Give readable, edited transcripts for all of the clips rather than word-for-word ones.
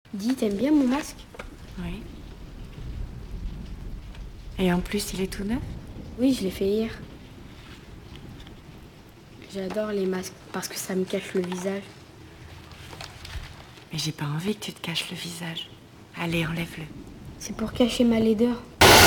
Dis, t'aimes bien mon masque? Oui. Et en plus, il est tout neuf? Oui, je l'ai fait hier. J'adore les masques parce que ça me cache le visage. Mais j'ai pas envie que tu te caches le visage. Allez, enlève-le. C'est pour cacher ma laideur.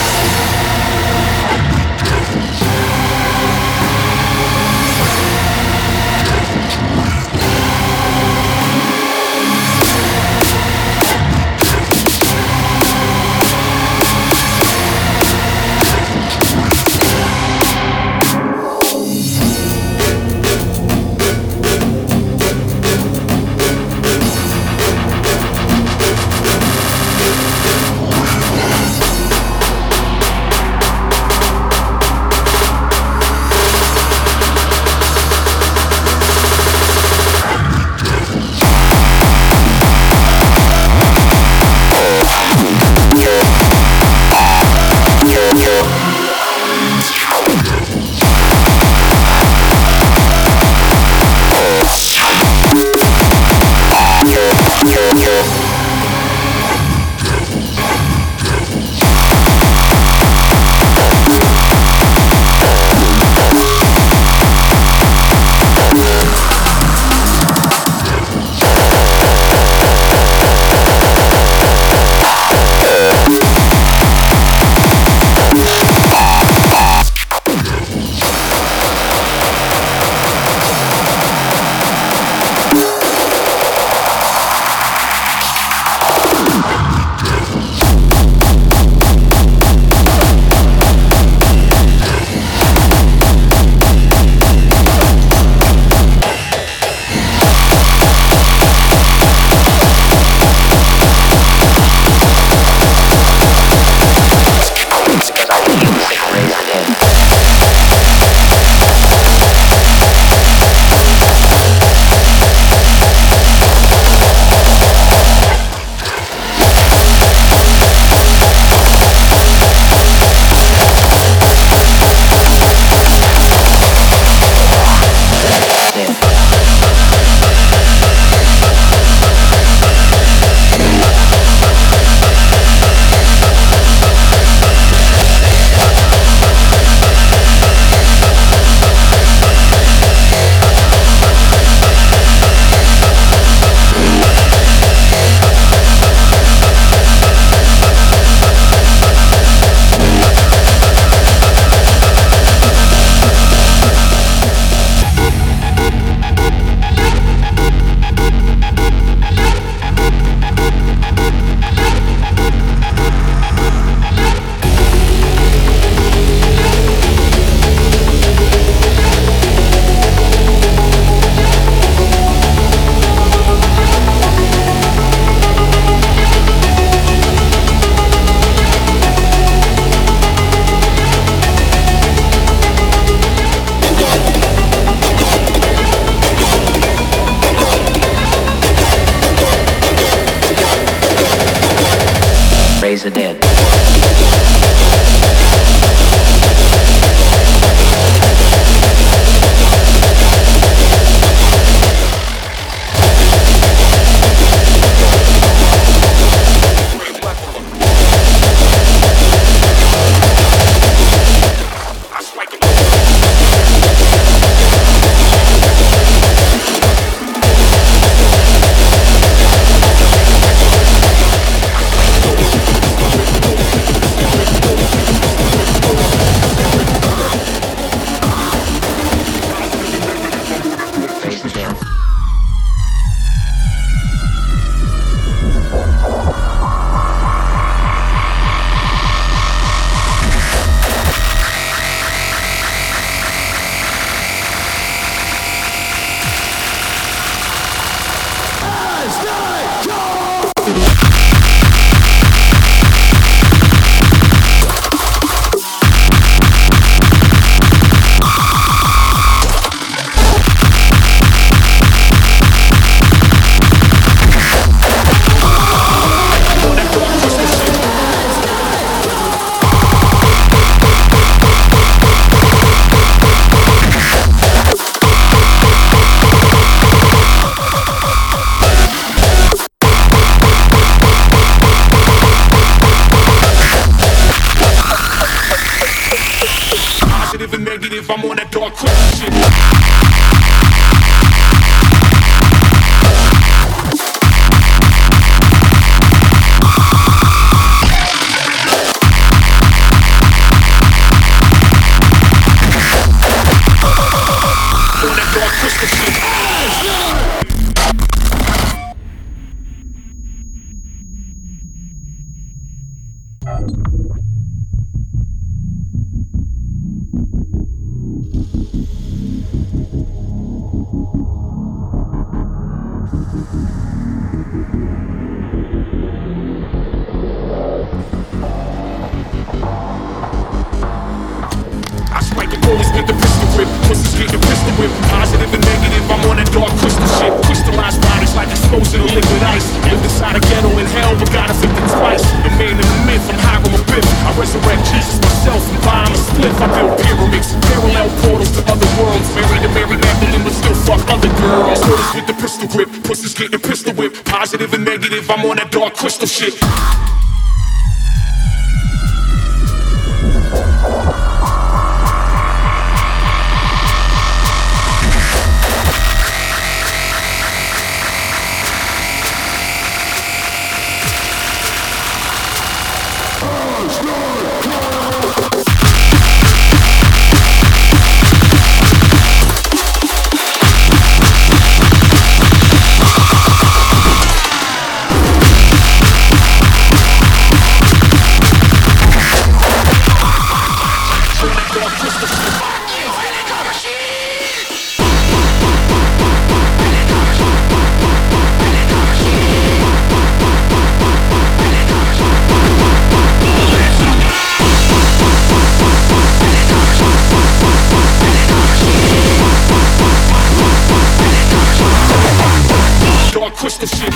Raise the dead. negative, I'm on that dark crystal shit. I strike the bullets with the pistol whip. Pussies getting pistol whip. Positive and negative, I'm on that dark crystal shit. Crystallized bodies like exposing to liquid ice. Lived inside a ghetto in hell, but got afflicted twice. The man in the myth, I'm Hiram Abiff. I resurrect Jesus myself and buy him a spliff. I build pyramids, parallel portals to other worlds. Married to Mary Magdalene, but still fuck other girls. Bullets with the pistol whip. Pussies getting pistol whip. Positive and negative, I'm on that dark crystal shit. Crystal shit.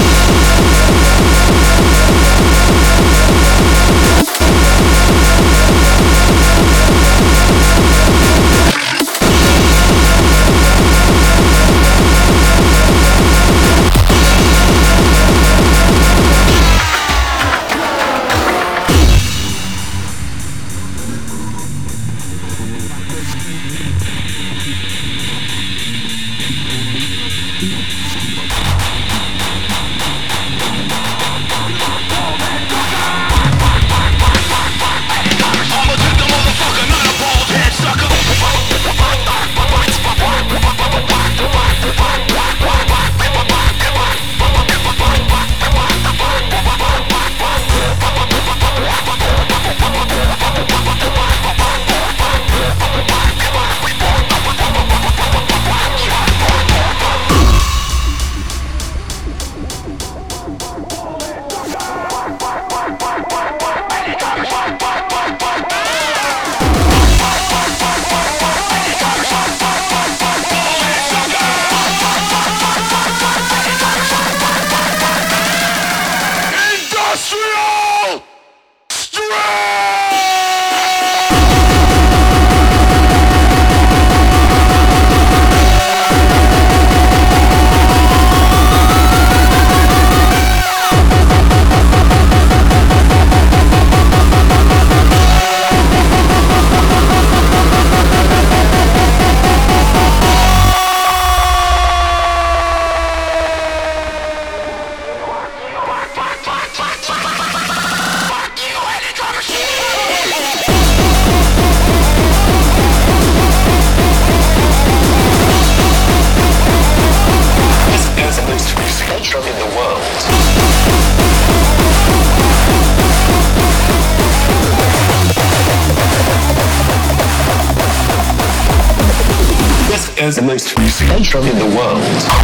Is the most free spectrum in the world.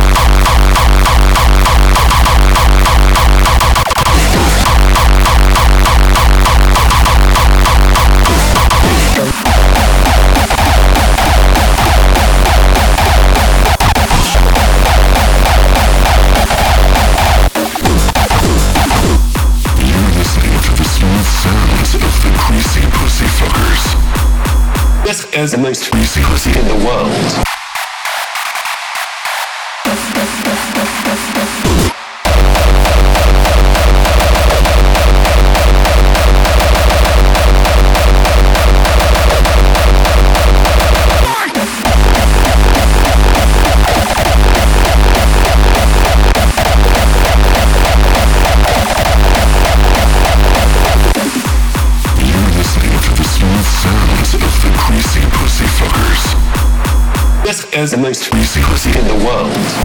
This is the most free pussy in the world. is the most physical city in the world.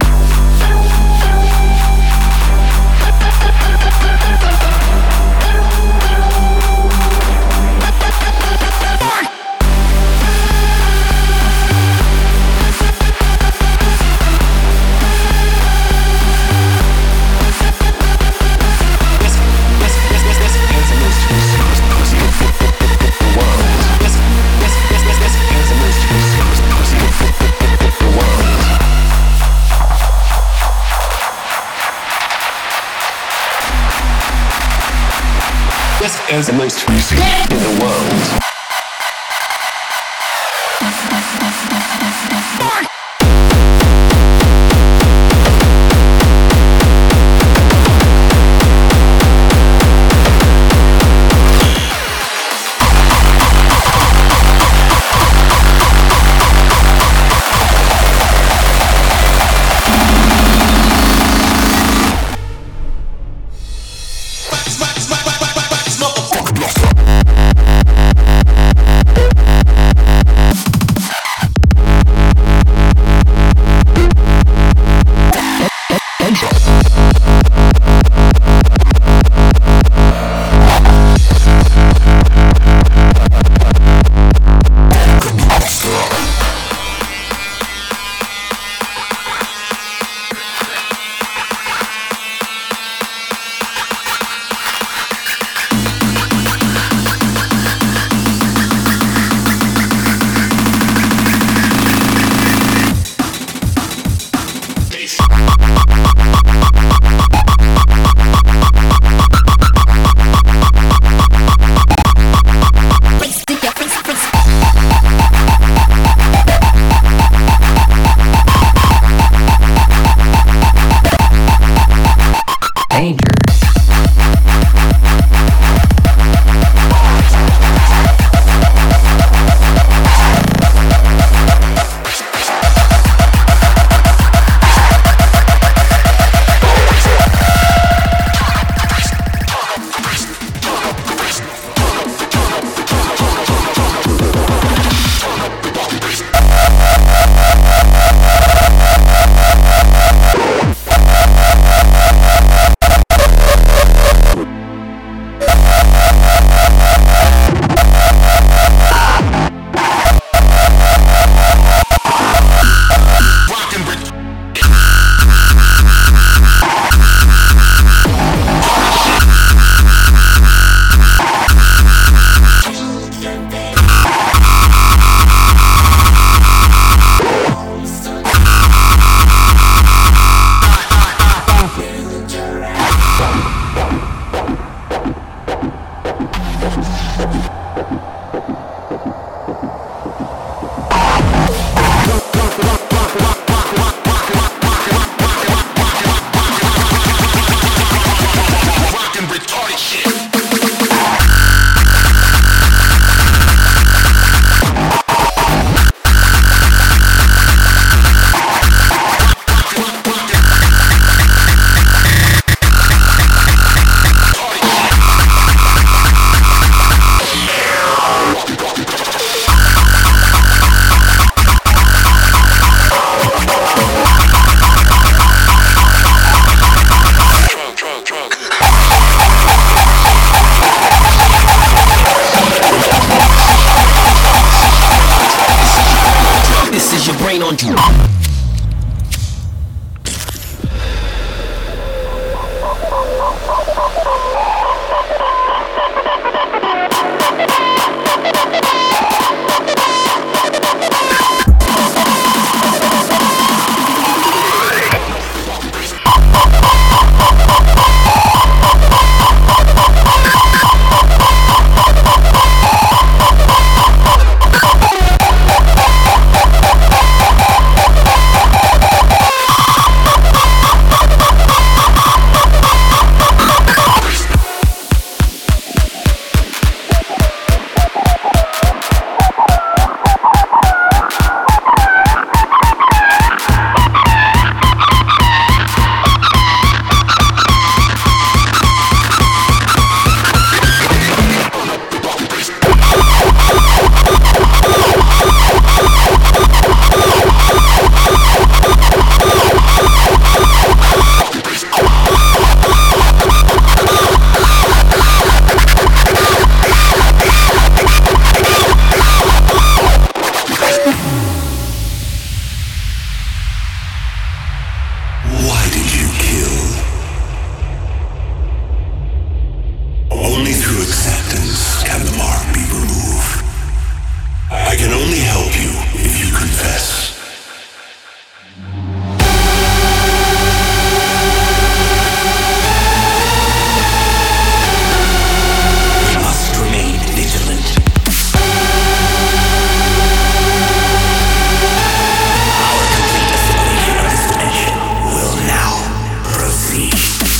Is the most physical in the world. I can only help you if you confess. We must remain vigilant. Our complete assimilation of this dimension will now proceed.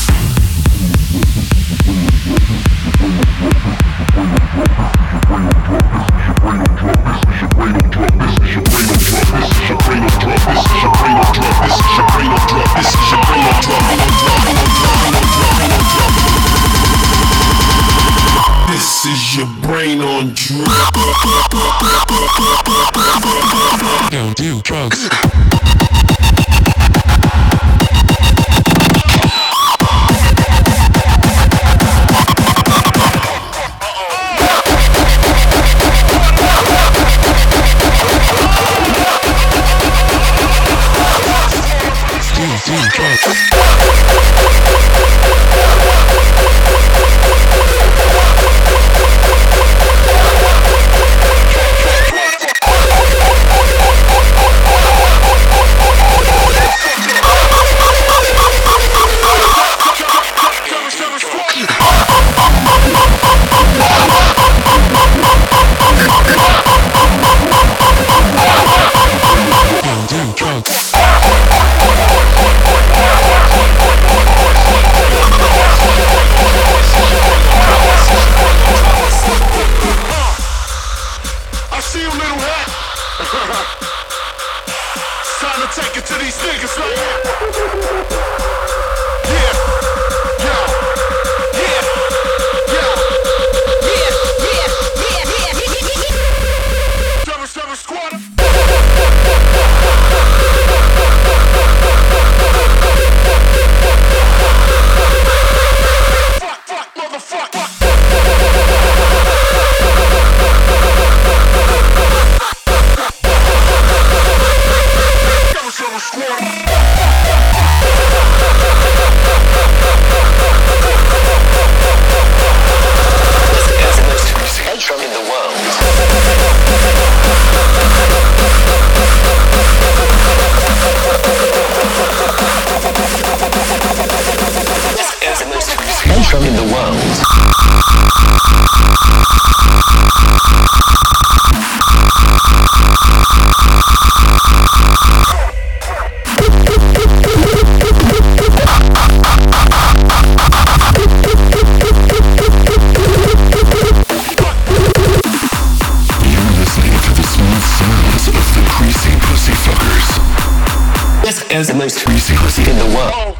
This is your brain on drugs. Don't do drugs. In the world. This is the most greasy pussy in the world.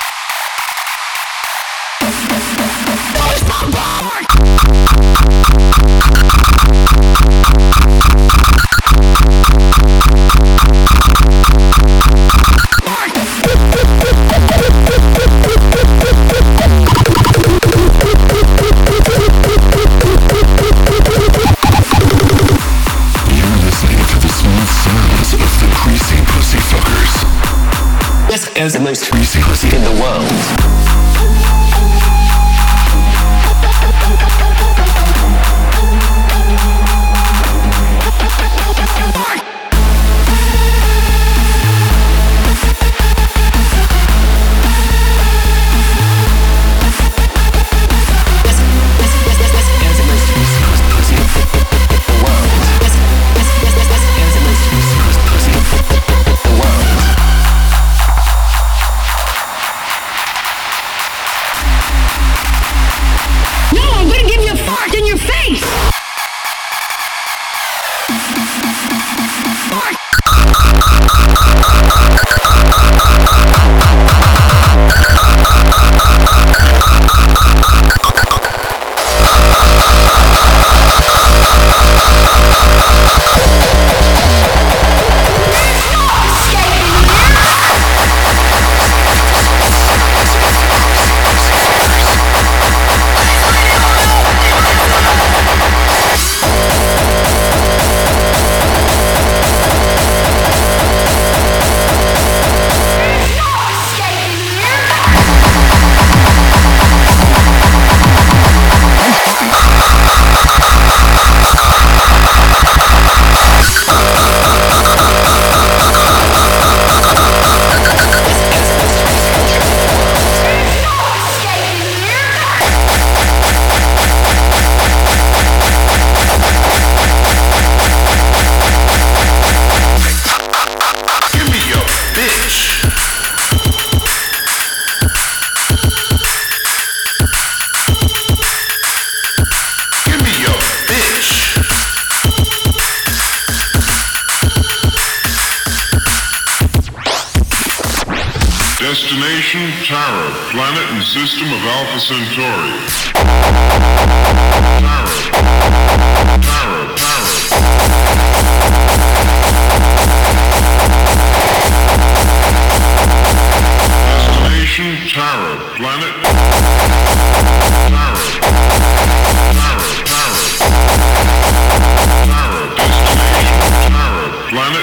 This is the most greasy pussy in the world. Tara, planet and system of Alpha Centauri. Tara. Destination Tara, planet. Tara, destination Tara, planet.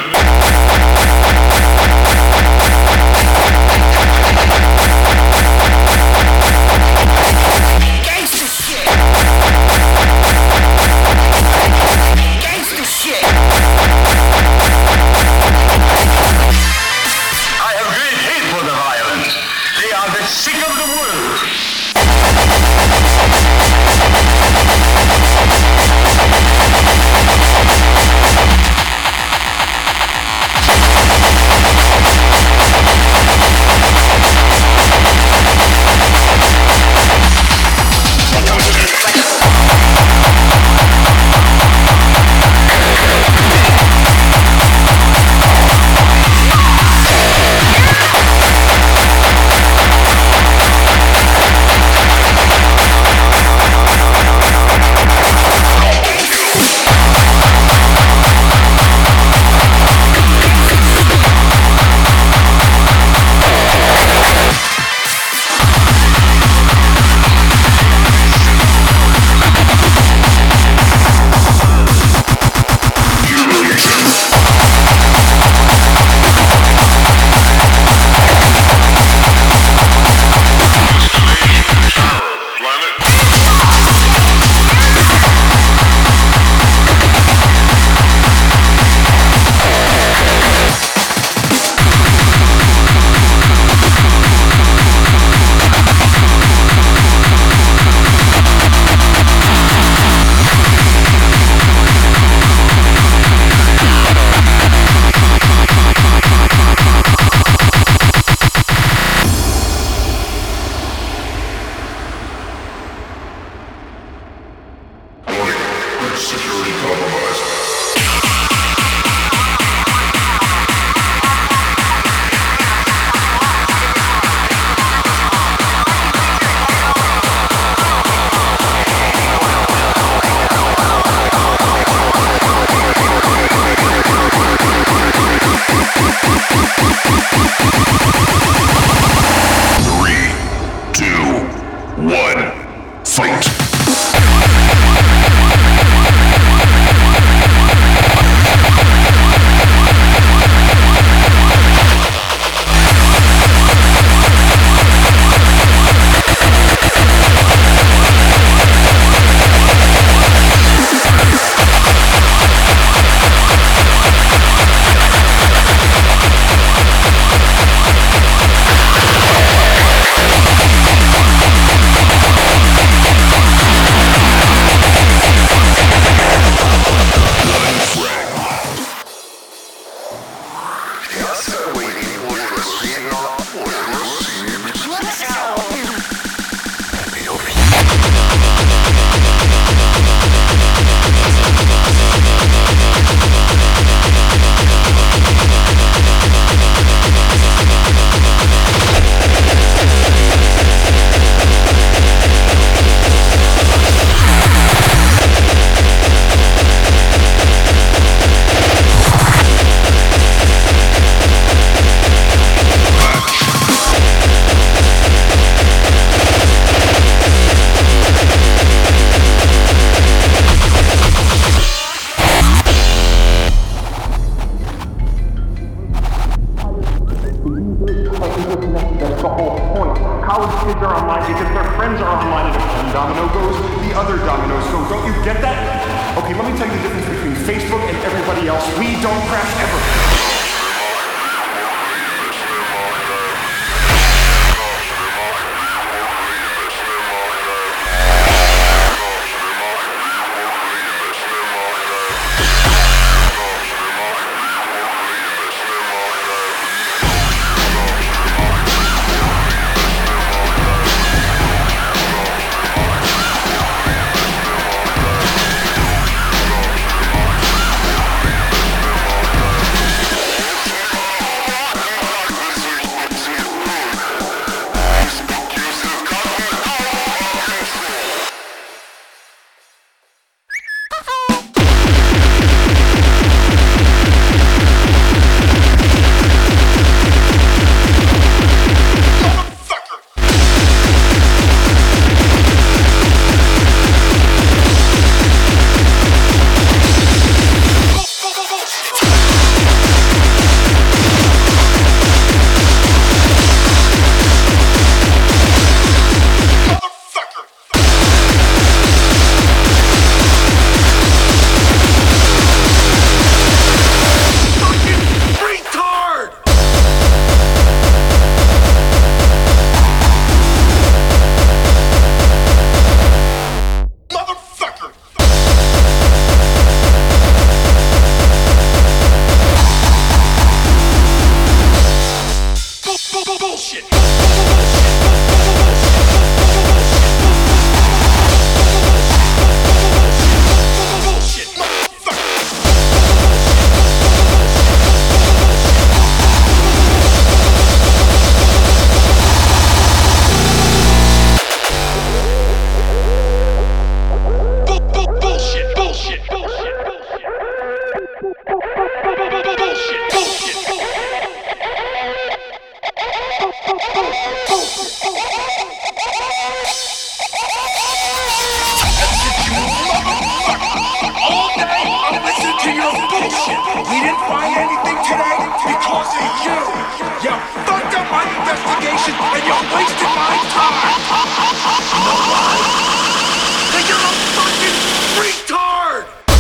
find anything today because of you. You fucked up my investigation and you wasted my time. You know why? 'Cause you're a fucking retard!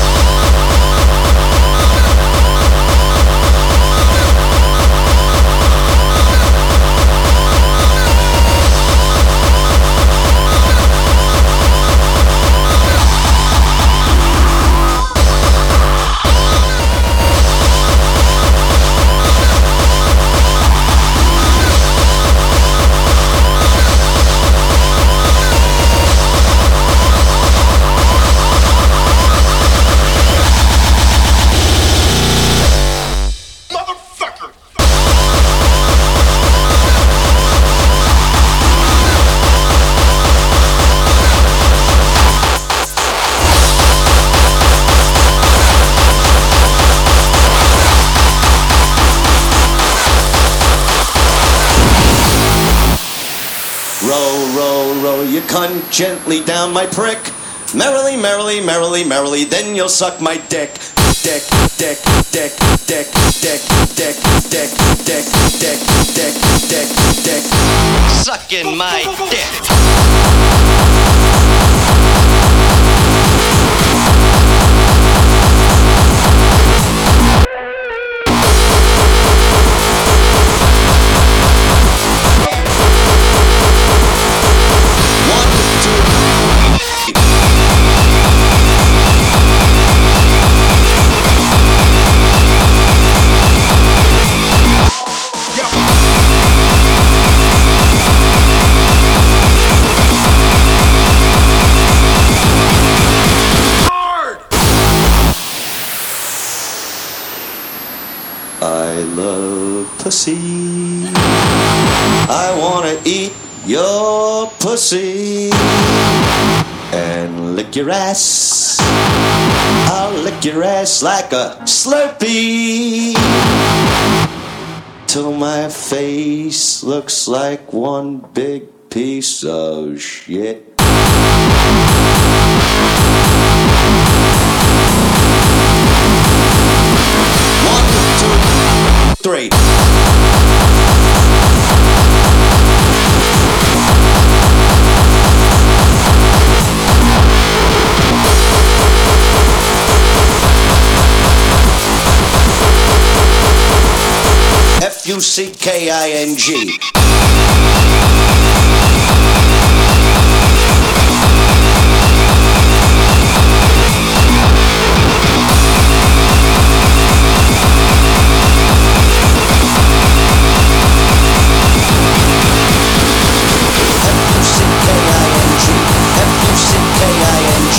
Row your cunt gently down my prick. Merrily, merrily, merrily, merrily, then you'll suck my dick. Dick, dick, dick, dick, dick, dick, dick, dick, dick, dick, dick, dick. Sucking my dick. I love pussy. I wanna eat your pussy and lick your ass. I'll lick your ass like a Slurpee till my face looks like one big piece of shit. 3. Fucking.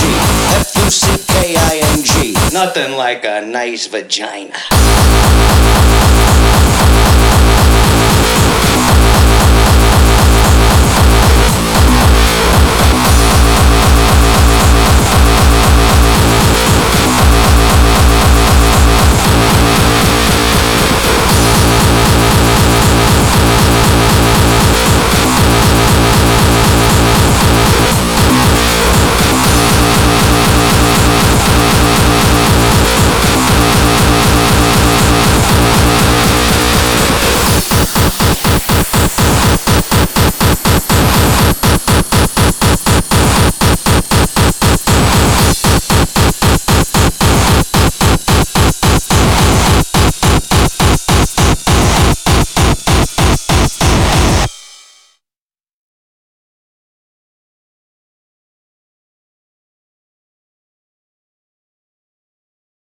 Nothing like a nice vagina.